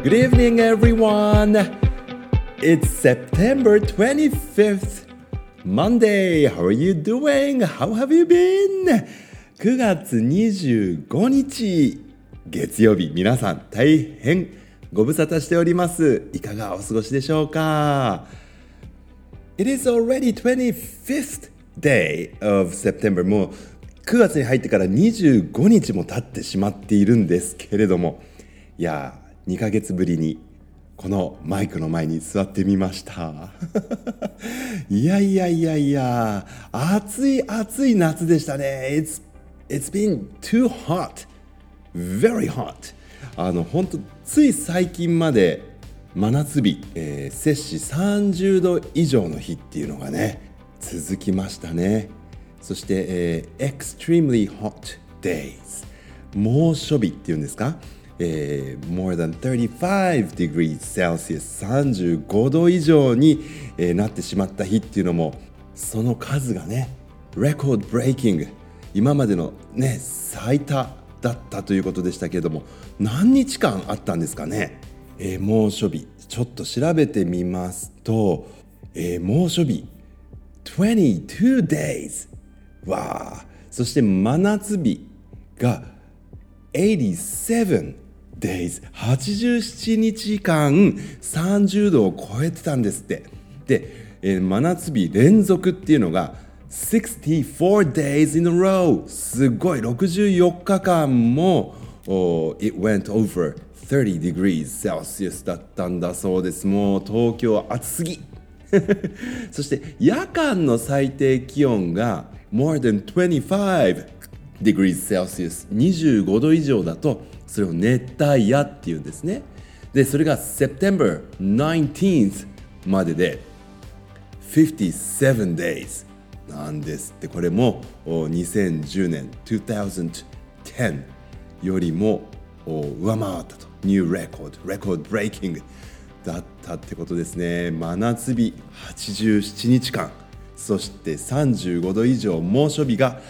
Good evening, everyone. It's September 25th, Monday. How are you doing? How have you been? 9月25日、月曜日、皆さん大変ご無沙汰しております。いかがお過ごしでしょうか？ It is already 25th day of September. もう9月に入ってから25日も経ってしまっているんですけれども、いや、2ヶ月ぶりにこのマイクの前に座ってみましたいや、暑い夏でしたね。It's been too hot, very hot. 本当つい最近まで真夏日、摂氏30度以上の日っていうのがね続きましたね。そして、extremely hot days、 猛暑日っていうんですか、more than 35 degrees Celsius、 35度以上に、なってしまった日っていうのも、その数がね record breaking、 今までのね最多だったということでしたけれども、何日間あったんですかね、猛暑日ちょっと調べてみますと、猛暑日22 days、 わあ、そして真夏日が87 days、 87日間30度を超えてたんですって。で、真夏日連続っていうのが64 days in a row、 すごい64日間もit went over 30 degrees Celsius だったんだそうです。もう東京暑すぎそして夜間の最低気温が more than 25 degrees Celsius、 25度以上だとそれを熱帯夜っていうんですね。でそれが September 19th までで57 daysなんですって。これも2010年2010よりも上回ったと、ニューレコードブレイキングだったってことですね。真夏日87日間、そして35度以上猛暑日が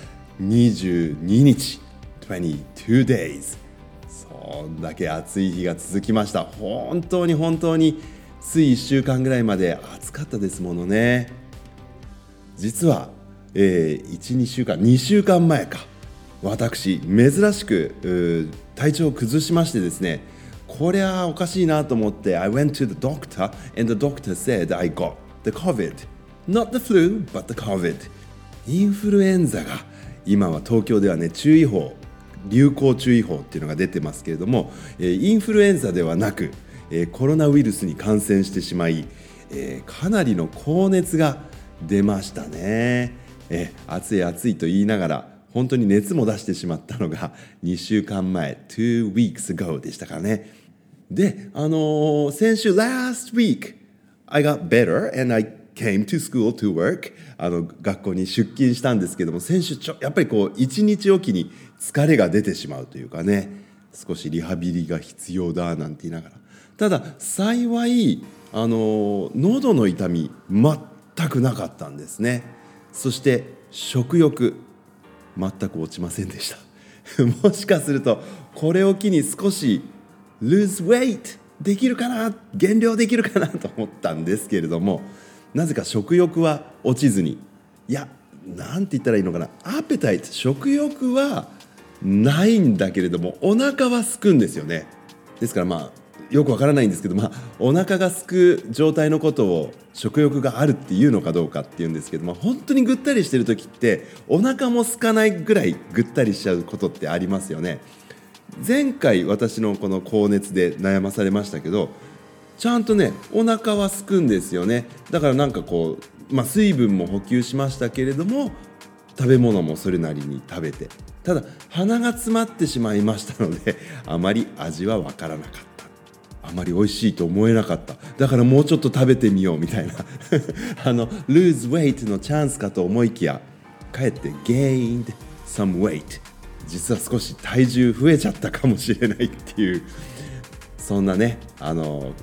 22日22 days、 そんだけ暑い日が続きました。本当につい1週間ぐらいまで暑かったですものね。実は、2週間前か、私珍しく体調を崩しましてですね、これはおかしいなと思って I went to the doctor and the doctor said I got the COVID, not the flu but the COVID。 インフルエンザが今は東京ではね注意報、流行注意報っていうのが出てますけれども、インフルエンザではなくコロナウイルスに感染してしまい、かなりの高熱が出ましたね。暑いと言いながら本当に熱も出してしまったのが2週間前2 weeks ago でしたからね。で、先週 last week I got better and I came to school to work、 学校に出勤したんですけども、先週やっぱりこう1日おきに疲れが出てしまうというかね、少しリハビリが必要だなんて言いながら、ただ幸い喉の痛み全くなかったんですね。そして食欲全く落ちませんでしたもしかするとこれを機に少し lose weight できるかな、減量できるかなと思ったんですけれども、なぜか食欲は落ちずに、いや、なんて言ったらいいのかな、アペタイト、食欲はないんだけれどもお腹は空くんですよね。ですからよくわからないんですけど、お腹が空く状態のことを食欲があるっていうのかどうかっていうんですけど、本当にぐったりしてる時ってお腹も空かないぐらいぐったりしちゃうことってありますよね。前回私のこの高熱で悩まされましたけど、ちゃんとねお腹は空くんですよね。だからなんかこう、水分も補給しましたけれども食べ物もそれなりに食べて、ただ鼻が詰まってしまいましたのであまり味はわからなかった、あまり美味しいと思えなかった、だからもうちょっと食べてみようみたいなlose weight のチャンスかと思いきや、かえって gained some weight、 実は少し体重増えちゃったかもしれないっていう、そんなね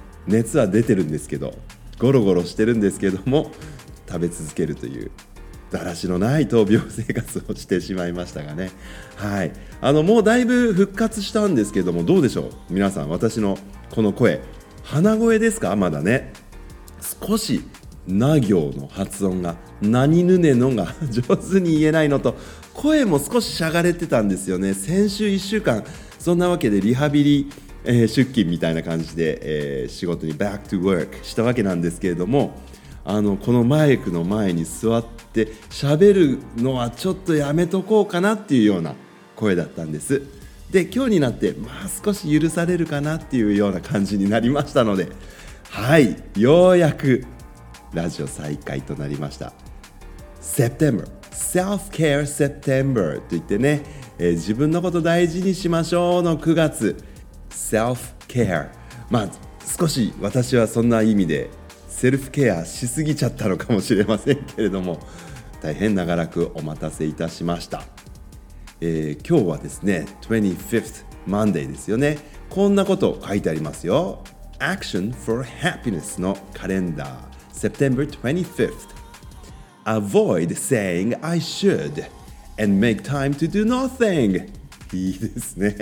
熱は出てるんですけどゴロゴロしてるんですけども食べ続けるというだらしのない闘病生活をしてしまいましたがね。はい、もうだいぶ復活したんですけども、どうでしょう皆さん、私のこの声、鼻声ですか？まだね、少しな行の発音が、何ぬねのが上手に言えないのと、声も少ししゃがれてたんですよね。先週1週間そんなわけでリハビリ、出勤みたいな感じで、仕事に back to work したわけなんですけれども、このマイクの前に座って喋るのはちょっとやめとこうかなっていうような声だったんです。で、今日になって少し許されるかなっていうような感じになりましたので、はい、ようやくラジオ再開となりました。 September Self-Care September といってね、自分のこと大事にしましょうの9月 Self-Care、 少し私はそんな意味でセルフケアしすぎちゃったのかもしれませんけれども、大変長らくお待たせいたしました。今日はですね 25th Monday ですよね。こんなこと書いてありますよ。 Action for Happiness のカレンダー September 25th Avoid saying I should and make time to do nothing。 いいですね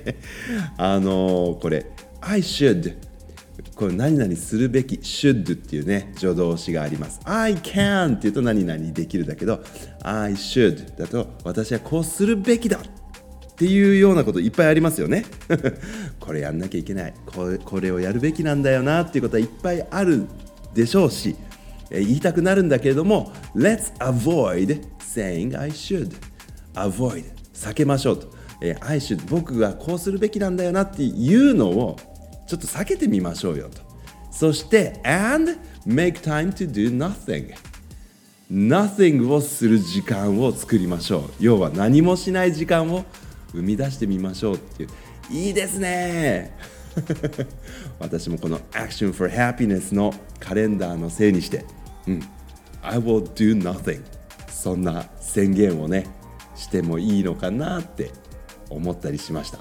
これ I should、 これ何々するべき should っていうね助動詞があります。 I can っていうと何々できるだけど、 I should だと私はこうするべきだっていうようなこといっぱいありますよねこれやんなきゃいけない、これをやるべきなんだよなっていうことはいっぱいあるでしょうし、言いたくなるんだけれども、 Let's avoid saying I should。 avoid 避けましょうと、I should 僕がこうするべきなんだよなっていうのをちょっと避けてみましょうよと。そして and make time to do nothing。 nothing をする時間を作りましょう。要は何もしない時間を生み出してみましょうっていう。いいですね私もこの Action for Happiness のカレンダーのせいにして、I will do nothing、 そんな宣言をねしてもいいのかなって思ったりしました。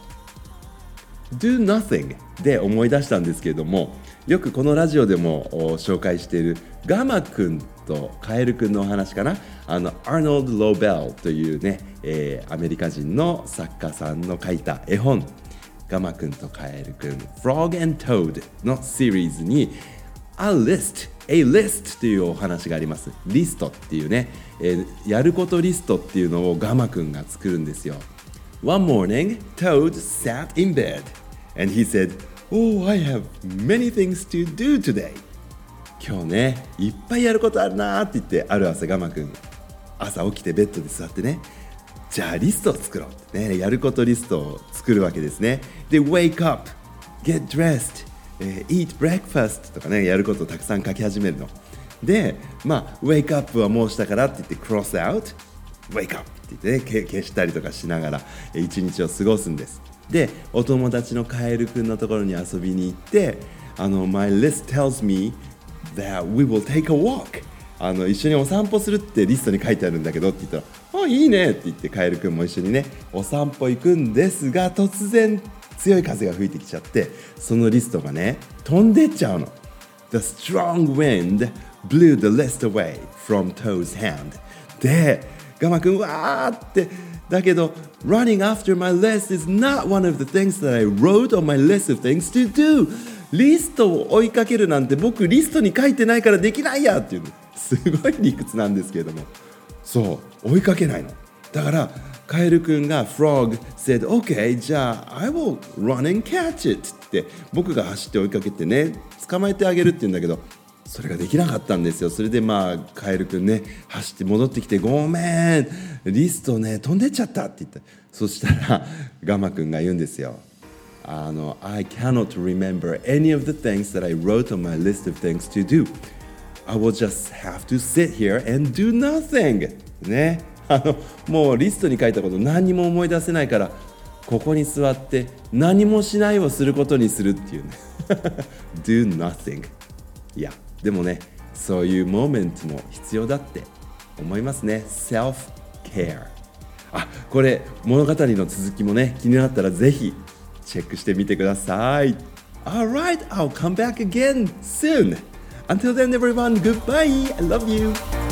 Do nothing で思い出したんですけれども、よくこのラジオでも紹介しているガマくんとカエルくんのお話かな。アーノルド・ローベルというね、アメリカ人の作家さんの書いた絵本、ガマくんとカエルくん Frog and Toad のシリーズに A list というお話があります。リストっていうね、やることリストっていうのをガマくんが作るんですよ。One morning, Toad sat in bed and he said, Oh, I have many things to do today。 今日ねいっぱいやることあるなって言って、ある朝ガマくん朝起きてベッドで座ってね、じゃあリストを作ろうってね、やることリストを作るわけですね。で Wake up, get dressed, eat breakfast とかね、やることをたくさん書き始めるので、Wake up はもうしたからって言って Cross out, Wake up って言ってね、消したりとかしながら一日を過ごすんです。でお友達のカエルくんのところに遊びに行って、My list tells me that we will take a walk、一緒にお散歩するってリストに書いてあるんだけどって言ったら、いいねって言ってカエルくんも一緒にねお散歩行くんですが、突然強い風が吹いてきちゃって、そのリストがね飛んでっちゃうの。 The strong wind blew the list away from Toad's hand。 でガマくんわーって、だけど Running after my list is not one of the things that I wrote on my list of things to do。 リストを追いかけるなんて僕リストに書いてないからできないやっていうの、すごい理屈なんですけれども、そう追いかけないの。だからカエルくんが Frog said OK じゃあ I will run and catch it って僕が走って追いかけてね捕まえてあげるって言うんだけど、それができなかったんですよ。それでカエルくんね走って戻ってきて、ごめんリストね飛んでっちゃったって言った。そしたらガマくんが言うんですよ。I cannot remember any of the things that I wrote on my list of things to do. I will just have to sit here and do nothing ね。もうリストに書いたこと何にも思い出せないから、ここに座って何もしないをすることにするっていうねdo nothing。 いやでもね、そういうモーメントも必要だって思いますね。 Self-care。 これ物語の続きもね気になったらぜひチェックしてみてください。 Alright, I'll come back again soon. Until then everyone, goodbye. I love you.